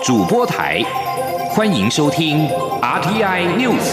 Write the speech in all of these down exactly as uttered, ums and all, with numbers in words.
主播台，欢迎收听 R T I News。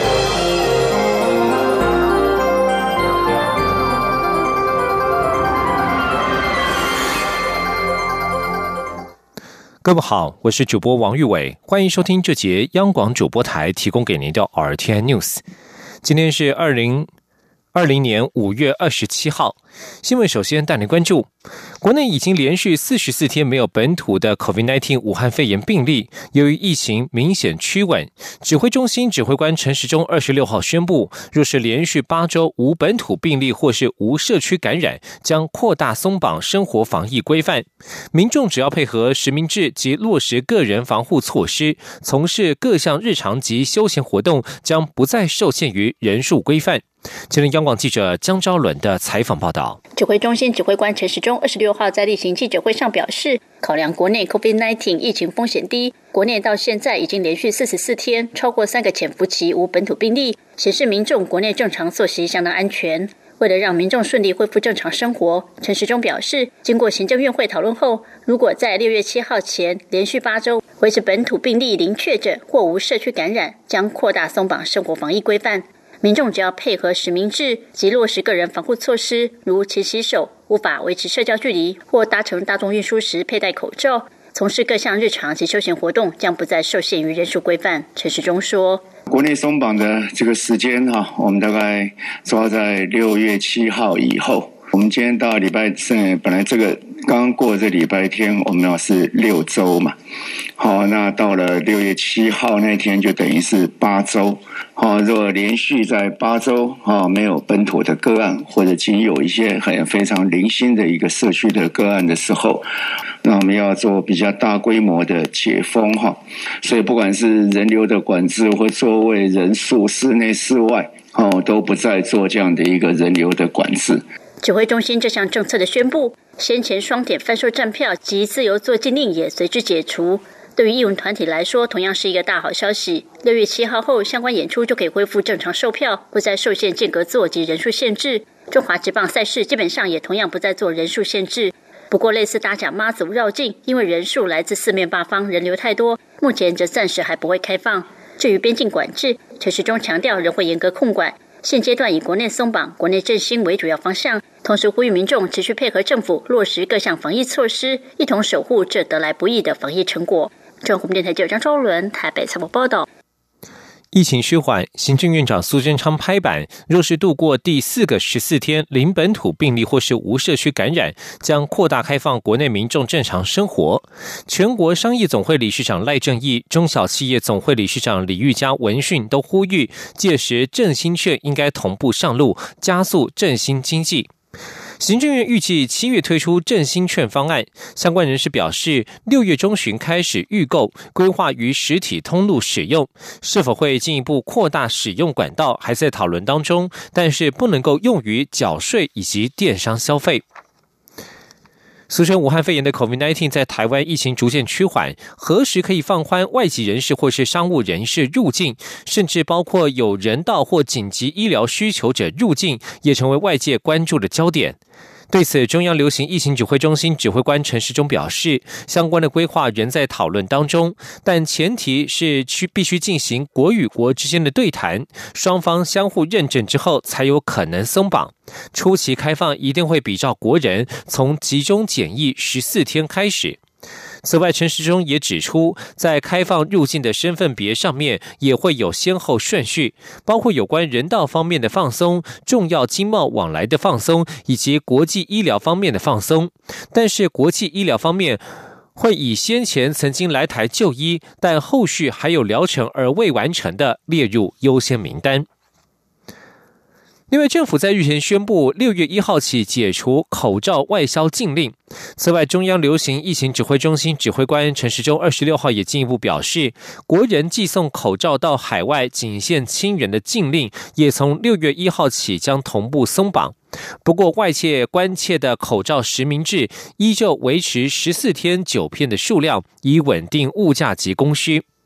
各位好，我是主播王玉伟，欢迎收听这节央广主播台提供给您的 R T I News。今天是二零二零年五月二十七号，新闻首先带您关注，国内已经连续四十四天没有本土的 COVID 十九 武汉肺炎病例，由于疫情明显趋稳，指挥中心指挥官陈时中二十六号宣布，若是连续八周无本土病例或是无社区感染，将扩大松绑生活防疫规范。民众只要配合实名制及落实个人防护措施，从事各项日常及休闲活动，将不再受限于人数规范。前央广记者江昭伦的采访报道。 指挥中心指挥官陈时中二十六号在例行记者会上表示，考量国内 COVID 十九 疫情风险低，国内到现在已经连续四十四天超过三个潜伏期无本土病例，显示民众国内正常作息相当安全。为了让民众顺利恢复正常生活，陈时中表示，经过行政院会讨论后，如果在六月七号前连续八周维持本土病例零确诊或无社区感染，将扩大松绑生活防疫规范。民众只要配合实名制及落实个人防护措施，如勤洗手、无法维持社交距离或搭乘大众运输时佩戴口罩，从事各项日常及休闲活动，将不再受限于人数规范。陈时中说， 国内松绑的这个时间哈，我们大概抓在六月七号以后。我们今天到礼拜四，本来这个刚刚过这礼拜天，我们要是六周嘛，好，那到了六月七号那天就等于是八周。好，如果连续在八周啊没有本土的个案，或者仅有一些很非常零星的一个社区的个案的时候，那我们要做比较大规模的解封哈。所以不管是人流的管制或座位人数、室内室外，哦，都不再做这样的一个人流的管制。 指挥中心这项政策的宣布，先前双点贩售站票及自由座禁令也随之解除。对于艺文团体来说，同样是一个大好消息。六月七号后，相关演出就可以恢复正常售票，不再受限间隔座及人数限制。中华职棒赛事基本上也同样不再做人数限制。不过，类似大甲妈祖绕境，因为人数来自四面八方，人流太多，目前则暂时还不会开放。至于边境管制，陈时中强调仍会严格控管。现阶段以国内松绑、国内振兴为主要方向，同时呼吁民众持续配合政府落实各项防疫措施，一同守护这得来不易的防疫成果。中国电台记者张昭伦台北采访报道。 疫情趋缓，行政院长苏贞昌拍板，若是度过第四个十四天零本土病例或是无社区感染，将扩大开放国内民众正常生活。全国商业总会理事长赖正义、中小企业总会理事长李玉嘉闻讯都呼吁，届时振兴券应该同步上路，加速振兴经济。行政院预计七月推出振兴券方案，相关人士表示，六月中旬开始预购，规划于实体通路使用，是否会进一步扩大使用管道，还在讨论当中，但是不能够用于缴税以及电商消费。俗称武汉肺炎的 COVID 十九 在台湾疫情逐渐趋缓，何时可以放宽外籍人士或是商务人士入境，甚至包括有人道或紧急医疗需求者入境，也成为外界关注的焦点。对此，中央流行疫情指挥中心指挥官陈时中表示，相关的规划仍在讨论当中，但前提是必须进行国与国之间的对谈，双方相互认证之后才有可能松绑。初期开放一定会比照国人，从集中检疫十四天开始。此外，陈时中也指出，在开放入境的身份别上面也会有先后顺序，包括有关人道方面的放松、重要经贸往来的放松，以及国际医疗方面的放松。但是国际医疗方面会以先前曾经来台就医，但后续还有疗程而未完成的列入优先名单。另外，政府在日前宣布，六月一号起解除口罩外销禁令。此外，中央流行疫情指挥中心指挥官陈时中二十六号也进一步表示，国人寄送口罩到海外仅限亲人的禁令，也从六月一号起将同步松绑。不过，外界关切的口罩实名制依旧维持十四天九片的数量，以稳定物价及供需。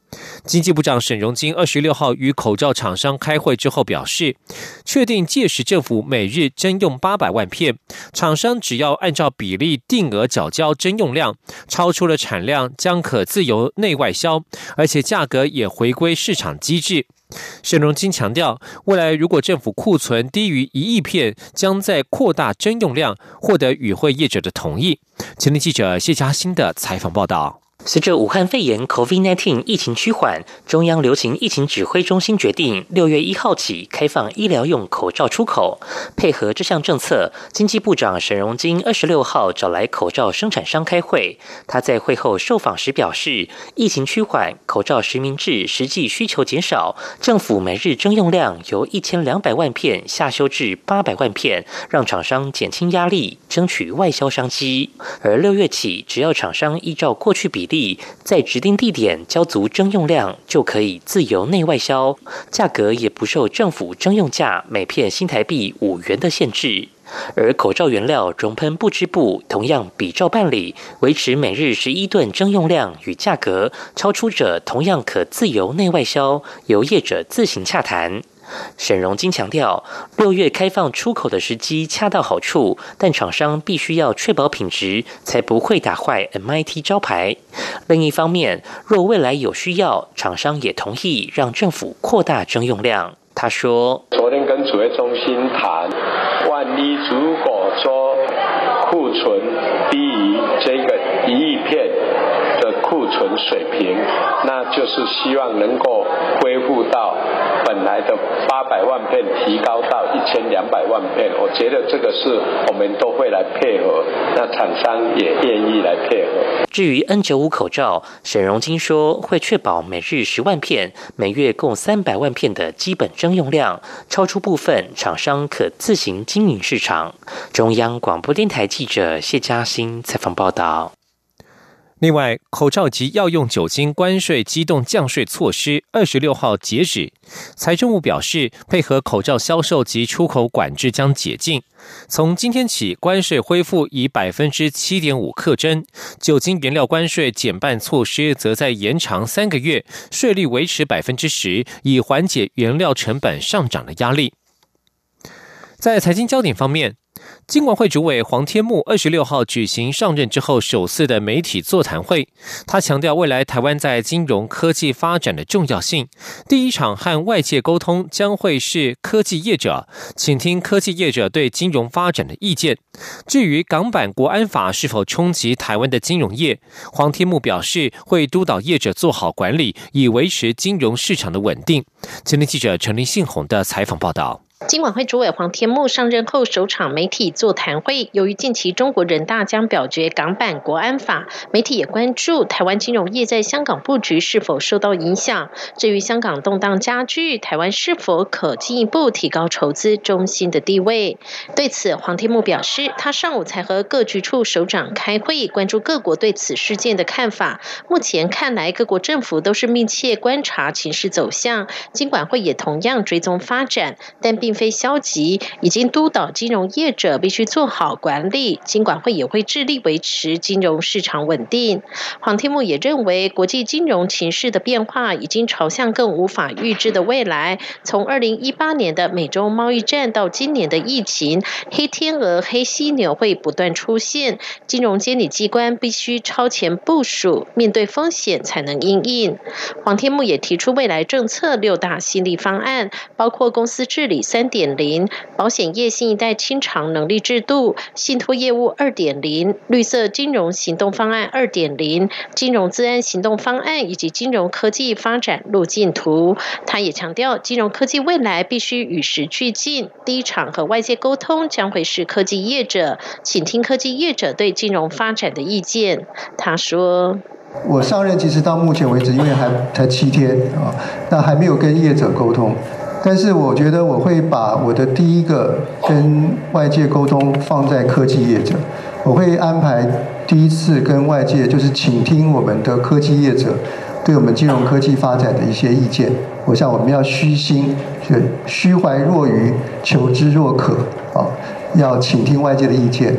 经济部长沈荣津二十六号与口罩厂商开会之后表示，确定届时政府每日征用八百万片，厂商只要按照比例定额缴交征用量，超出了产量将可自由内外销，而且价格也回归市场机制。沈荣津强调，未来如果政府库存低于一亿片，将在扩大征用量，获得与会业者的同意。前天记者谢嘉欣的采访报道。 随着武汉肺炎 COVID 十九 疫情趋缓，中央流行疫情指挥中心决定六月一号起开放医疗用口罩出口。配合这项政策，经济部长沈荣津二十六号找来口罩生产商开会。他在会后受访时表示，疫情趋缓，口罩实名制实际需求减少，政府每日征用量由一千两百万片下修至八百万片，让厂商减轻压力，争取外销商机。而六月起，只要厂商依照过去比例在指定地点交足征用量，就可以自由内外销，价格也不受政府征用价每片新台币五元的限制。而口罩原料熔喷不织布同样比照办理，维持每日十一吨征用量与价格，超出者同样可自由内外销，由业者自行洽谈。沈荣津强调，六月开放出口的时机恰到好处，但厂商必须要确保品质，才不会打坏 M I T 招牌。另一方面，若未来有需要，厂商也同意让政府扩大征用量。他说， 昨天跟指挥中心谈，万一如果说库存低于这个一亿片的库存水平，那就是希望能够恢复到本来的八百万片提高到一千两百万片，我觉得这个是我们都会来配合，那厂商也愿意来配合。 至于 N 九十五 口罩，沈荣津说会确保每日十万片，每月共三百万片的基本征用量，超出部分厂商可自行经营市场。中央广播电台记者谢嘉欣采访报道。 另外，口罩及药用酒精关税机动降税措施二十六号截止。财政部表示，配合口罩销售及出口管制将解禁，从今天起关税恢复以 百分之七点五 课征，酒精原料关税减半措施则在延长三个月，税率维持 百分之十， 以缓解原料成本上涨的压力。在财经焦点方面，金管会主委黄天牧二十六号举行上任之后首次的媒体座谈会，他强调未来台湾在金融科技发展的重要性。第一场和外界沟通将会是科技业者，请听科技业者对金融发展的意见。至于港版国安法是否冲击台湾的金融业，黄天牧表示会督导业者做好管理，以维持金融市场的稳定。前天记者陈林信宏的采访报道。 金管会主委黄天牧上任后首场媒体座谈会，由于近期中国人大将表决港版国安法，媒体也关注台湾金融业在香港布局是否受到影响。至于香港动荡加剧，台湾是否可进一步提高筹资中心的地位？对此，黄天牧表示，他上午才和各局处首长开会，关注各国对此事件的看法。目前看来，各国政府都是密切观察情势走向，金管会也同样追踪发展，但并非消极，已经督导金融业者必须做好管理，金管会也会致力维持金融市场稳定。黄天牧也认为，国际金融情势的变化已经朝向更无法预知的未来，从二零一八年的美中贸易战到今年的疫情，黑天鹅、黑犀牛会不断出现，金融监理机关必须超前部署，面对风险才能因应。黄天牧也提出未来政策六大新力方案，包括公司治理 三点零、保险业新一代清偿能力制度、信托业务 二点零、绿色金融行动方案 二点零、金融资安行动方案以及金融科技发展路径图。他也强调，金融科技未来必须与时俱进，第一场和外界沟通将会是科技业者，请听科技业者对金融发展的意见。他说， 我上任其实到目前为止，因为还才七天啊，那还没有跟业者沟通。但是我觉得我会把我的第一个跟外界沟通放在科技业者，我会安排第一次跟外界就是倾听我们的科技业者对我们金融科技发展的一些意见。我想我们要虚心，虚怀若愚，求知若渴啊，要倾听外界的意见。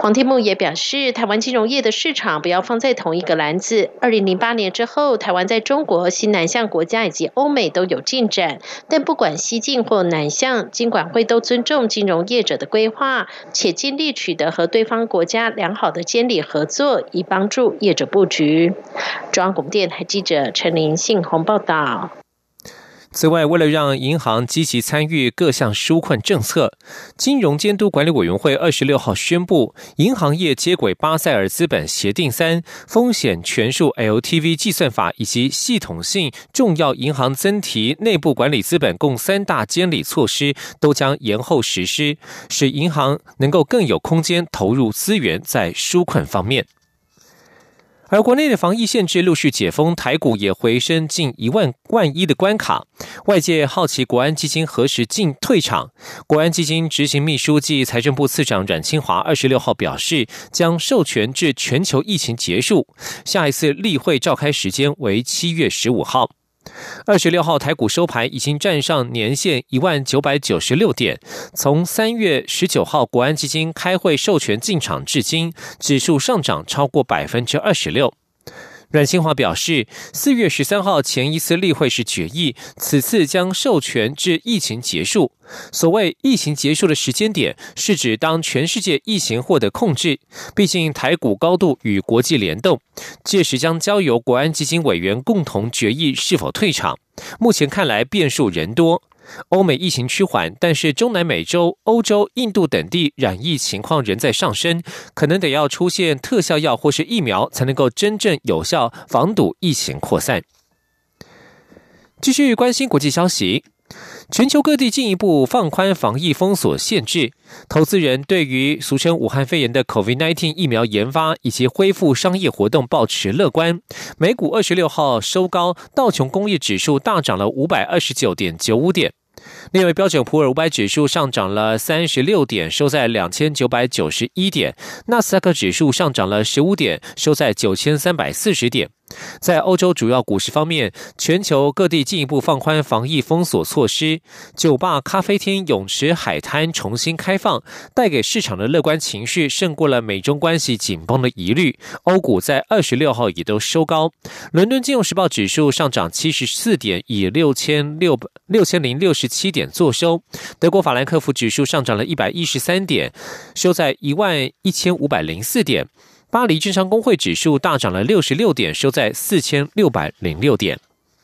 黄天木也表示，台湾金融业的市场不要放在同一个篮子。二零零八年之后，台湾在中国、西南向国家以及欧美都有进展，但不管西进或南向，金管会都尊重金融业者的规划，且尽力取得和对方国家良好的监理合作，以帮助业者布局。中央广播电台记者陈琳信宏报道。 此外，为了让银行积极参与各项纾困政策，金融监督管理委员会二十六号宣布，银行业接轨巴塞尔资本协定三、风险权数 L T V 计算法以及系统性重要银行增提内部管理资本共三大监理措施都将延后实施，使银行能够更有空间投入资源在纾困方面。而国内的防疫限制陆续解封，台股也回升近一万万一的关卡。外界好奇国安基金何时进退场。国安基金执行秘书暨财政部次长阮清华二十六号表示，将授权至全球疫情结束，下一次例会召开时间为七月十五号。二十六号台股收盘已经站上年线一万九百九十六点，从三月十九号国安基金开会授权进场至今，指数上涨超过百分之二十六。阮清华表示，四月十三号前一次例会是决议，此次将授权至疫情结束。所谓疫情结束的时间点，是指当全世界疫情获得控制，毕竟台股高度与国际联动，届时将交由国安基金委员共同决议是否退场。目前看来变数人多。欧美疫情趋缓，但是中南美洲、欧洲、印度等地染疫情况仍在上升，可能得要出现特效药或是疫苗，才能够真正有效防堵疫情扩散。继续关心国际消息，全球各地进一步放宽防疫封锁限制，投资人对于俗称武汉肺炎的 COVID 十九 疫苗研发以及恢复商业活动抱持乐观。美股二十六号收高，道琼工业指数大涨了 五百二十九点九五点。另外，标准普尔五百指数上涨了三十六点，收在两千九百九十一点；纳斯达克指数上涨了十五点，收在九千三百四十点。在欧洲主要股市方面，全球各地进一步放宽防疫封锁措施，酒吧、咖啡厅、泳池、海滩重新开放，带给市场的乐观情绪胜过了美中关系紧绷的疑虑。欧股在二十六号也都收高，伦敦金融时报指数上涨七十四点，以六千零六十七点作收。德国法兰克福指数上涨了一百一十三点，收在一万一千五百零四点。巴黎政商工会指数大涨了六十六点，收在四千六百零六点。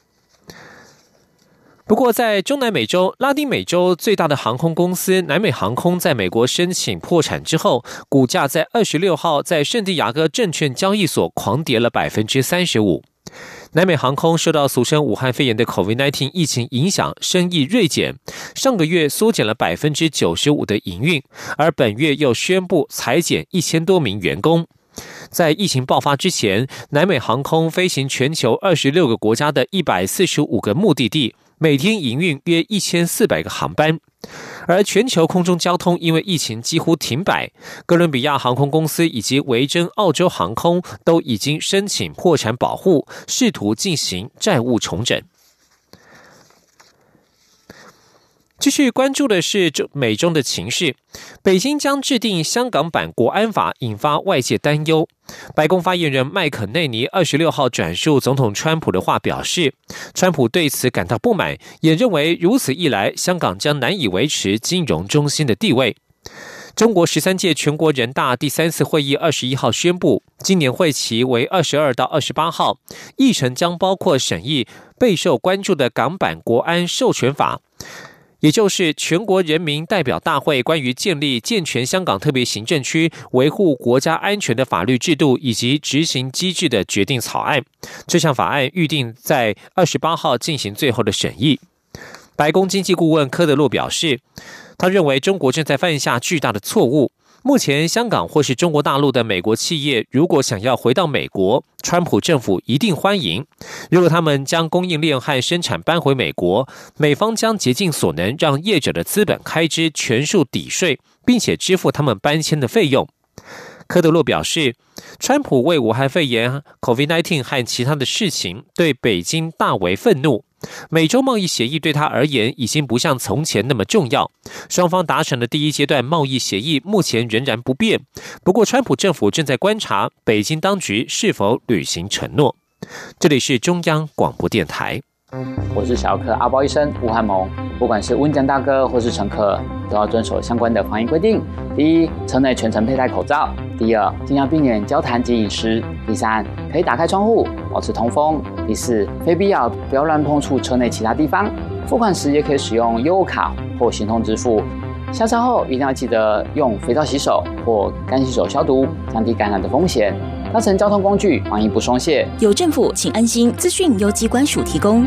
不过，在中南美洲、拉丁美洲最大的航空公司南美航空在美国申请破产之后，股价在二十六号在圣地亚哥证券交易所狂跌了百分之三十五。南美航空受到俗称武汉肺炎的 COVID 十九 疫情影响，生意锐减，上个月缩减了百分之九十五的营运，而本月又宣布裁减一千多名员工。在疫情爆发之前，南美航空飞行全球二十六个国家的一百四十五个目的地，每天营运约一千四百个航班。而全球空中交通因为疫情几乎停摆，哥伦比亚航空公司以及维珍澳洲航空都已经申请破产保护，试图进行债务重整。继续关注的是美中的情势，北京将制定香港版国安法，引发外界担忧。白宫发言人麦肯内尼二十六号转述总统川普的话表示，川普对此感到不满，也认为如此一来，香港将难以维持金融中心的地位。中国十三届全国人大第三次会议二十一号宣布，今年会期为二十二到二十八号，议程将包括审议备受关注的港版国安授权法，也就是全国人民代表大会关于建立健全香港特别行政区维护国家安全的法律制度以及执行机制的决定草案。这项法案预定在二十八号进行最后的审议。白宫经济顾问科德洛表示，他认为中国正在犯下巨大的错误。目前香港或是中国大陆的美国企业如果想要回到美国，川普政府一定欢迎。如果他们将供应链和生产搬回美国，美方将竭尽所能让业者的资本开支全数抵税，并且支付他们搬迁的费用。科德洛表示，川普为武汉肺炎 COVID 十九 和其他的事情对北京大为愤怒， 美洲贸易协议对他而言已经不像从前那么重要。双方达成的第一阶段贸易协议目前仍然不变，不过川普政府正在观察北京当局是否履行承诺。这里是中央广播电台。 我是小儿科阿包医生吴汉蒙。不管是温江大哥或是乘客，都要遵守相关的防疫规定。第一，车内全程佩戴口罩；第二，尽量避免交谈及饮食；第三，可以打开窗户，保持通风；第四，非必要不要乱碰触车内其他地方。付款时也可以使用悠游卡或行动支付。下车后一定要记得用肥皂洗手或干洗手消毒，降低感染的风险。搭乘交通工具，防疫不松懈。 有政府，请安心。资讯由机关署提供。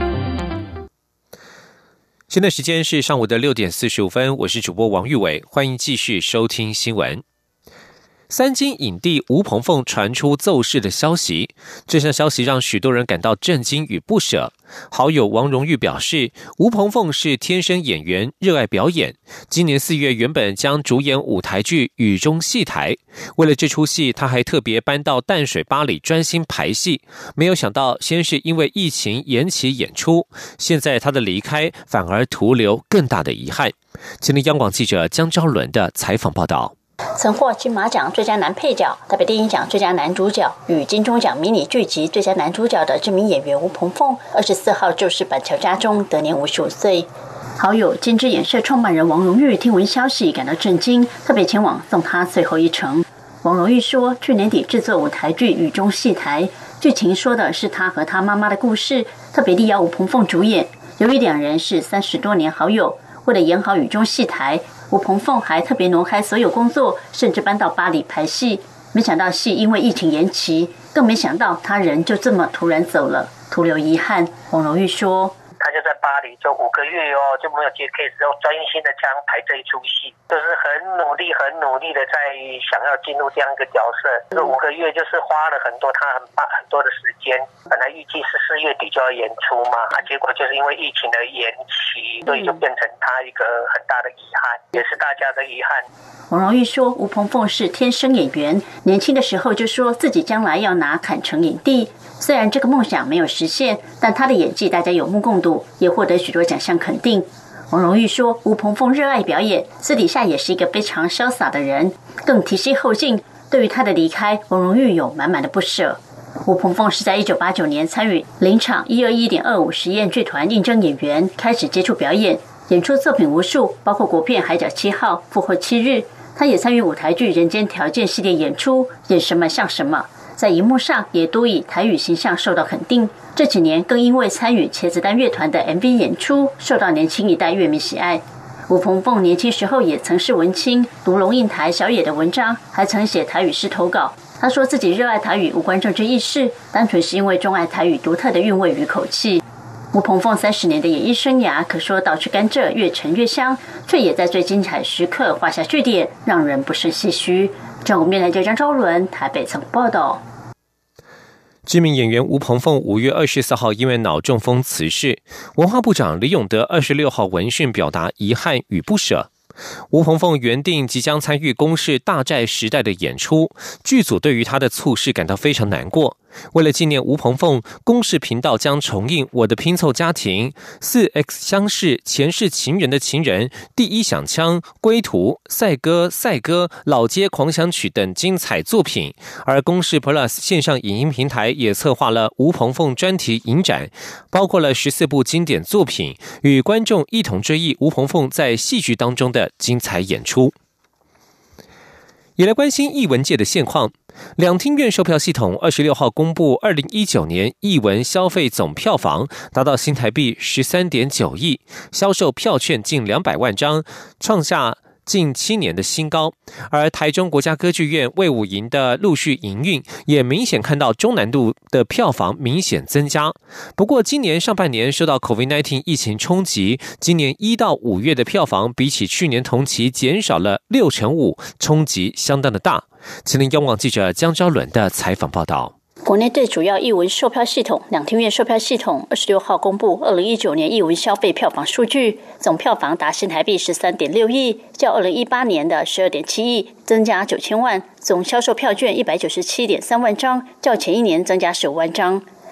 现在时间是上午的六点四十五分，我是主播王玉伟，欢迎继续收听新闻。三金影帝吴鹏凤传出奏事的消息，这项消息让许多人感到震惊与不舍。好友王荣玉表示，吴鹏凤是天生演员，热爱表演。今年四月原本将主演舞台剧《雨中戏台》，为了这出戏，他还特别搬到淡水巴里专心排戏。没有想到，先是因为疫情延期演出，现在他的离开反而徒留更大的遗憾。请听央广记者江昭伦的采访报道。 曾获金马奖最佳男配角、台北电影奖最佳男主角与金钟奖迷你剧集最佳男主角的知名演员吴鹏凤，二十四号就是板桥家中，得年五十五岁。好友金枝演社创办人王荣玉听闻消息感到震惊，特别前往送他最后一程。王荣玉说，去年底制作舞台剧《雨中戏台》，剧情说的是他和他妈妈的故事，特别力邀吴鹏凤主演。由于两人是三十多年好友，为了演好《雨中戏台》，吴鹏凤还特别挪开所有工作，甚至搬到巴黎拍戏。没想到戏因为疫情延期，更没想到他人就这么突然走了，徒留遗憾。王荣玉说， 他就在巴黎，就五个月哦，就没有接 case， 就专心的这样排这一出戏，就是很努力、很努力的在想要进入这样一个角色。这五个月就是花了很多他很很多的时间，本来预计是四月底就要演出嘛，啊，结果就是因为疫情的延期，所以就变成他一个很大的遗憾，也是大家的遗憾。 王荣玉说，吴鹏凤是天生演员，年轻的时候就说自己将来要拿坎城影帝。虽然这个梦想没有实现，但他的演技大家有目共睹，也获得许多奖项肯定。王荣玉说，吴鹏凤热爱表演，私底下也是一个非常潇洒的人，更提携后进。对于他的离开，王荣玉有满满的不舍。吴鹏凤是在一九八九年参与林场一二一点二五实验剧团应征演员，开始接触表演，演出作品无数，包括国片《海角七号》、《复活七日》。他也参与舞台剧《人间条件》系列演出，演什么像什么，在荧幕上也多以台语形象受到肯定。这几年更因为参与茄子蛋乐团的 M V 演出，受到年轻一代乐迷喜爱。吴鹏凤年轻时候也曾是文青，读龙应台、小野的文章，还曾写台语诗投稿。他说自己热爱台语无关政治意识，单纯是因为钟爱台语独特的韵味与口气。吴鹏凤三十年的演艺生涯，可说倒吃甘蔗越陈越香，却也在最精彩时刻画下句点，让人不胜唏嘘。中国面台记者张昭伦台北曾报道。 知名演员吴鹏凤五月二十四号因为脑中风辞世，文化部长李永得二十六号闻讯表达遗憾与不舍。吴鹏凤原定即将参与公视大债时代的演出，剧组对于他的猝逝感到非常难过。为了纪念吴鹏凤，公视频道将重映《我的拼凑家庭》、四 X 相识、前世情人的情人、第一响枪、归途、赛歌、赛歌、老街狂想曲等精彩作品。而公视 Plus 线上影音平台也策划了吴鹏凤专题影展，包括了十四部经典作品，与观众一同追忆吴鹏凤在戏剧当中的精彩演出。也来关心艺文界的现况。两厅院售票系统二十六号公布，二零一九年艺文消费总票房达到新台币十三点九亿，销售票券近两百万张，创下近七年的新高。而台中国家歌剧院卫武营的陆续营运，也明显看到中南度的票房明显增加。不过今年上半年受到 COVID 十九 疫情冲击，今年一到五月的票房比起去年同期减少了六成五，冲击相当的大。请听央广记者江昭伦的采访报道。 国内最主要艺文售票系统两厅院售票系统二十六号公布二零一九年艺文消费票房数据，总票房达新台币十三点六亿，较二零一八年的十二点七亿增加九千万，总销售票券一百九十七点三万张，较前一年增加十五万张。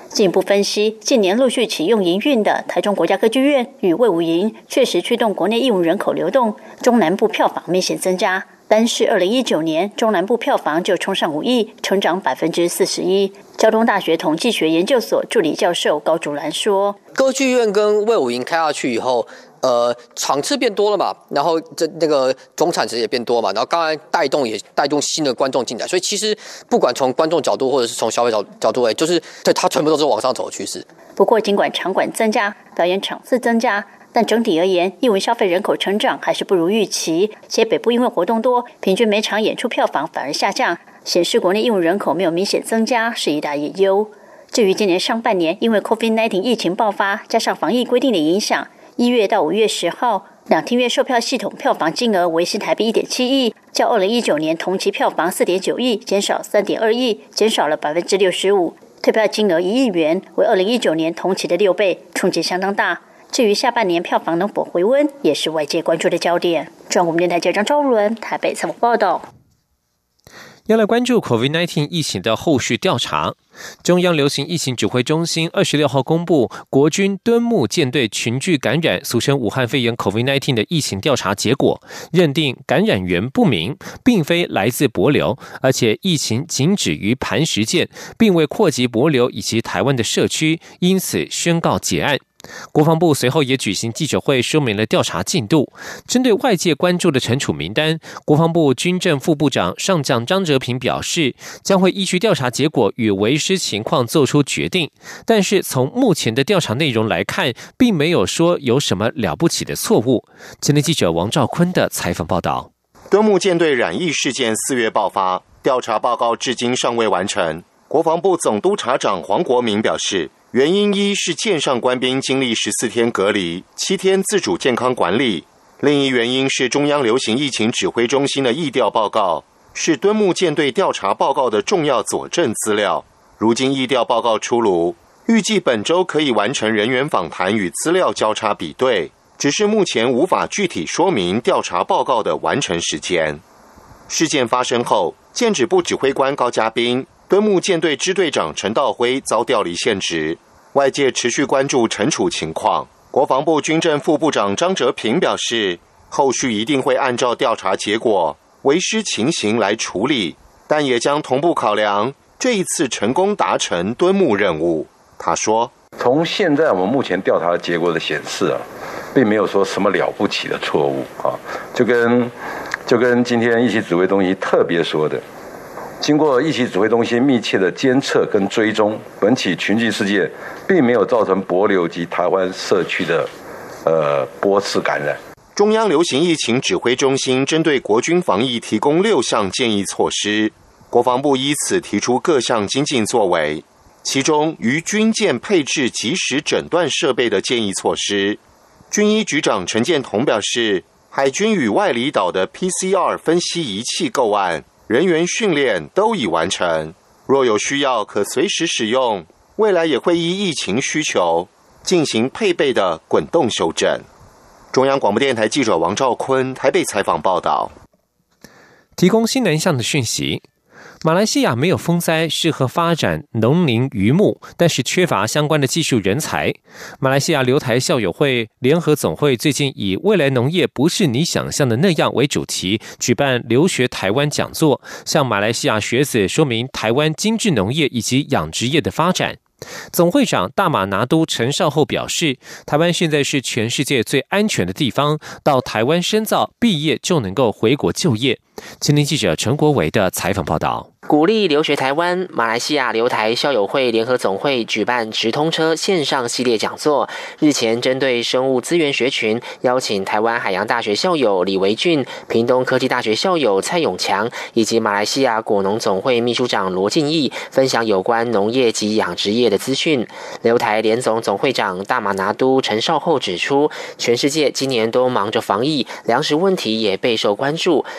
进一步分析，近年陆续启用营运的台中国家歌剧院与卫武营，确实驱动国内艺文人口流动，中南部票房明显增加。单是二零一九年，中南部票房就冲上五亿，成长百分之四十一。交通大学统计学研究所助理教授高竹兰说：“ 歌剧院跟卫武营开下去以后。”呃，场次变多了嘛，然后这那个总产值也变多嘛，然后刚才带动也带动新的观众进来，所以其实不管从观众角度或者是从消费角角度，哎，就是对它全部都是往上走的趋势。 不过，尽管场馆增加，表演场次增加，但整体而言，艺文消费人口成长还是不如预期。且北部因为活动多，平均每场演出票房反而下降，显示国内艺文人口没有明显增加，是一大隐忧。至于今年上半年，因为 COVID 十九 疫情爆发，加上防疫规定的影响。一月到五月十号，两厅院售票系统票房金额为新台币 一点七亿，较二零一九年同期票房 四点九亿减少 三点二亿，减少了 百分之六十五。退票金额一亿元，为二零一九年同期的六倍，冲击相当大。至于下半年票房能否回温，也是外界关注的焦点。中国电台记者张昭伦台北采访报道。 要来关注 COVID 十九 疫情的后续调查。中央流行疫情指挥中心二十六号公布国军敦睦舰队群聚感染，俗称武汉肺炎 COVID 十九 的疫情调查结果，认定感染源不明，并非来自帛琉，而且疫情仅止于磐石舰，并未扩及帛琉以及台湾的社区，因此宣告结案。国防部随后也举行记者会，说明了调查进度。针对外界关注的惩处名单，国防部军政副部长上将张哲平表示，将会依据调查结果与为师情况做出决定。但是从目前的调查内容来看，并没有说有什么了不起的错误。前天记者王兆坤的采访报道。 敦睦舰队染疫事件四月爆发，调查报告至今尚未完成。国防部总督察长黄国明表示，原因一是舰上官兵经历十四天隔离，七天自主健康管理；另一原因是中央流行疫情指挥中心的疫调报告，是敦睦舰队调查报告的重要佐证资料。如今疫调报告出炉，预计本周可以完成人员访谈与资料交叉比对，只是目前无法具体说明调查报告的完成时间。事件发生后，舰指部指挥官高嘉斌、敦睦舰队支队长陈道辉遭调离现职，外界持续关注惩处情况。国防部军政副部长张哲平表示，后续一定会按照调查结果、为师情形来处理，但也将同步考量这一次成功达成敦睦任务。他说， 从现在我们目前调查的结果的显示啊，并没有说什么了不起的错误啊，就跟就跟今天疫情指挥中心特别说的，经过疫情指挥中心密切的监测跟追踪，本起群聚事件并没有造成帛琉及台湾社区的呃波次感染。 中央流行疫情指挥中心针对国军防疫提供六项建议措施，国防部依此提出各项精进作为。其中于军舰配置即时诊断设备的建议措施，军医局长陈建同表示，海军与外离岛的 P C R 分析仪器购案、人员训练都已完成，若有需要可随时使用，未来也会依疫情需求进行配备的滚动修正。中央广播电台记者王兆坤台北采访报道。 提供新南向的讯息，马来西亚没有风灾，适合发展农林渔牧，但是缺乏相关的技术人才。马来西亚留台校友会联合总会最近以未来农业不是你想象的那样为主题，举办留学台湾讲座，向马来西亚学子说明台湾精致农业以及养殖业的发展。总会长大马拿督陈绍厚表示，台湾现在是全世界最安全的地方，到台湾深造毕业就能够回国就业。前天记者陈国维的采访报道。 鼓励留学台湾，马来西亚留台校友会联合总会举办直通车线上系列讲座。日前针对生物资源学群，邀请台湾海洋大学校友李维俊、屏东科技大学校友蔡永强以及马来西亚果农总会秘书长罗敬义分享有关农业及养殖业的资讯。留台联总总会长大马拿督陈绍厚指出，全世界今年都忙着防疫，粮食问题也备受关注，没有风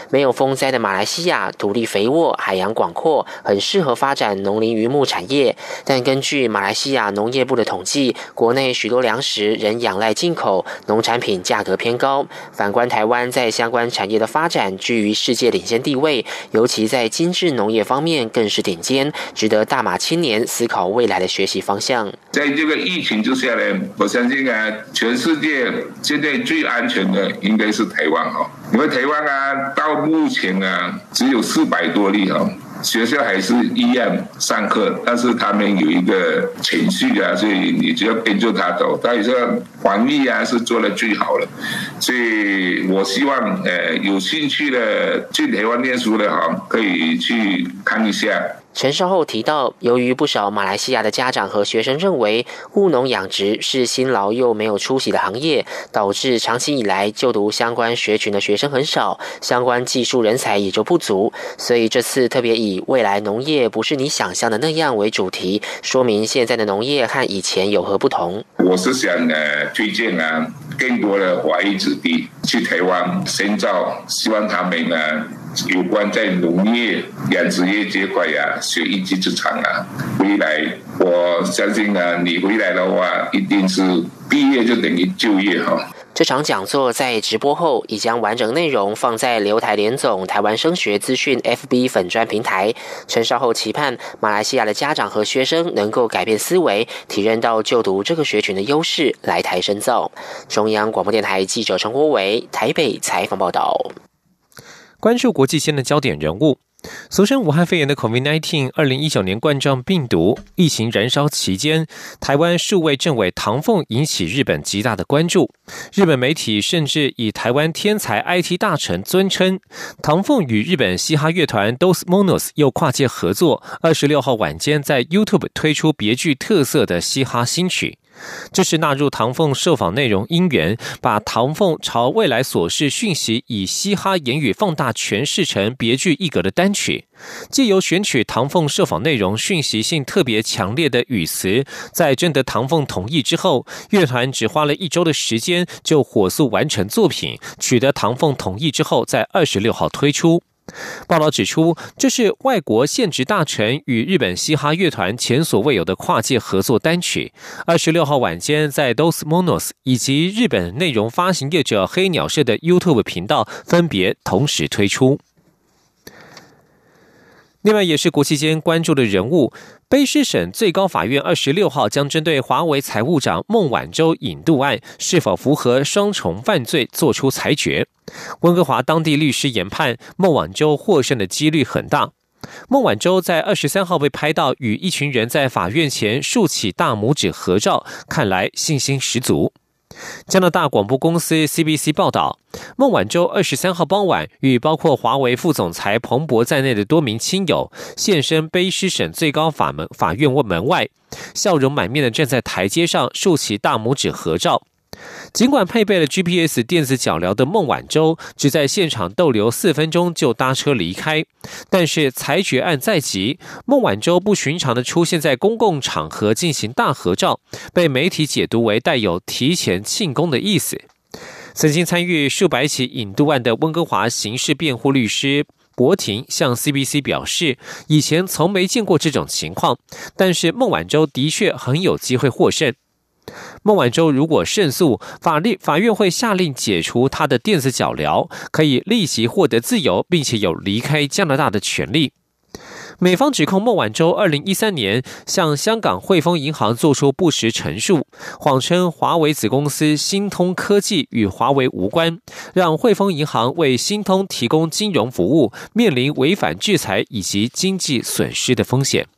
风灾的马来西亚土地肥沃，海洋广阔，很适合发展农林渔牧产业。但根据马来西亚农业部的统计，国内许多粮食仍仰赖进口，农产品价格偏高。反观台湾在相关产业的发展居于世界领先地位，尤其在精致农业方面更是顶尖，值得大马青年思考未来的学习方向。 在这个疫情之下呢，我相信啊，全世界现在最安全的应该是台湾哈，因为台湾啊，到目前啊只有四百多例哈。学校还是一样上课，但是他们有一个程序啊，所以你只要跟着他走。但是防疫啊是做得最好了，所以我希望呃有兴趣的去台湾念书的哈，可以去看一下。 陈绍厚提到，由于不少马来西亚的家长和学生认为务农养殖是辛劳又没有出息的行业，导致长期以来就读相关学群的学生很少，相关技术人才也就不足。所以这次特别以未来农业不是你想象的那样为主题，说明现在的农业和以前有何不同。 我是想呃推荐啊更多的华裔子弟去台湾深造，希望他们呢有关在农业、养殖业这块呀、啊，学一技之长啊，回来我相信呢，你回来的话，一定是毕业就等于就业哈。 这场讲座在直播后，已将完整内容放在留台联总台湾升学资讯 F B 粉专平台。陈绍厚期盼马来西亚的家长和学生能够改变思维，体认到就读这个学群的优势，来台深造。中央广播电台记者陈国伟台北采访报道。 关注国际间的焦点人物。俗称武汉肺炎的 COVID 十九 二零一九年冠状病毒疫情燃烧期间，台湾数位政委唐凤引起日本极大的关注。日本媒体甚至以台湾天才 I T 大臣尊称。唐凤与日本嘻哈乐团 Dos Monos 又跨界合作，二十六号晚间在 YouTube 推出别具特色的嘻哈新曲。这是纳入唐凤受访内容因缘，把唐凤朝未来所示讯息以嘻哈言语放大诠释成别具一格的单曲，藉由选取唐凤受访内容讯息性特别强烈的语词，在征得唐凤同意之后，乐团只花了一周的时间就火速完成作品，取得唐凤同意之后，在二十六号推出。报道指出，这是外国现职大臣与日本嘻哈乐团前所未有的跨界合作单曲。二十六号晚间，在 Dos Monos 以及日本内容发行业者黑鸟社的 YouTube 频道分别同时推出。另外也是国际间关注的人物，卑诗省最高法院二十六号将针对华为财务长孟晚舟引渡案是否符合双重犯罪作出裁决。温哥华当地律师研判，孟晚舟获胜的几率很大。孟晚舟在二十三号被拍到与一群人在法院前竖起大拇指合照，看来信心十足。加拿大广播公司 C B C 报道，孟晚舟二十三号傍晚与包括华为副总裁彭博在内的多名亲友现身卑诗省最高法门法院门外，笑容满面的站在台阶上竖起大拇指合照。尽管配备了 G P S 电子脚镣的孟晚舟只在现场逗留四分钟就搭车离开，但是裁决案在即，孟晚舟不寻常的出现在公共场合进行大合照，被媒体解读为带有提前庆功的意思。曾经参与数百起引渡案的温哥华刑事辩护律师博廷向 C B C 表示，以前从没见过这种情况，但是孟晚舟的确很有机会获胜。孟晚舟如果胜诉，法律法院会下令解除他的电子脚镣，可以立即获得自由，并且有离开加拿大的权利。美方指控孟晚舟二零一三年向香港汇丰银行做出不实陈述，谎称华为子公司新通科技与华为无关，让汇丰银行为新通提供金融服务，面临违反制裁以及经济损失的风险。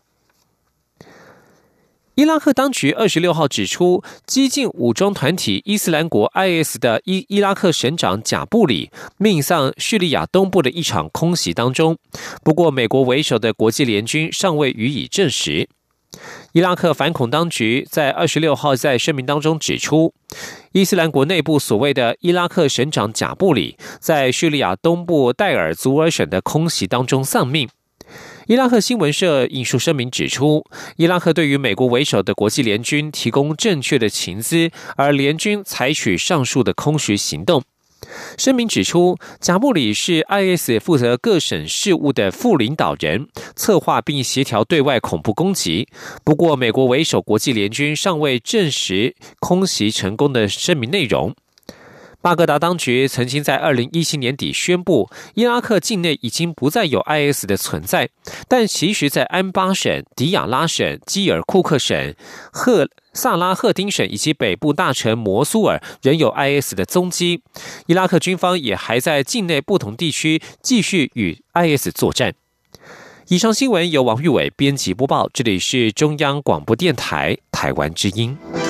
伊拉克当局二十六号指出，激进武装团体伊斯兰国 I S 的伊伊拉克省长贾布里命丧叙利亚东部的一场空袭当中，不过美国为首的国际联军尚未予以证实。伊拉克反恐当局在二十六号在声明当中指出，伊斯兰国内部所谓的伊拉克省长贾布里在叙利亚东部代尔祖尔省的空袭当中丧命。伊拉克新闻社引述声明指出，伊拉克对于美国为首的国际联军提供正确的情资，而联军采取上述的空袭行动。 声明指出，贾布里是 I S 负责各省事务的副领导人，策划并协调对外恐怖攻击。不过，美国为首国际联军尚未证实空袭成功的声明内容。巴格达当局曾经在二零一七年底宣布，伊拉克境内已经不再有 I S 的存在，但其实在安巴省、迪亚拉省、基尔库克省、赫萨拉赫丁省以及北部大城摩苏尔仍有 I S 的踪迹。伊拉克军方也还在境内不同地区继续与 I S 作战。以上新闻由王玉伟编辑播报，这里是中央广播电台台湾之音。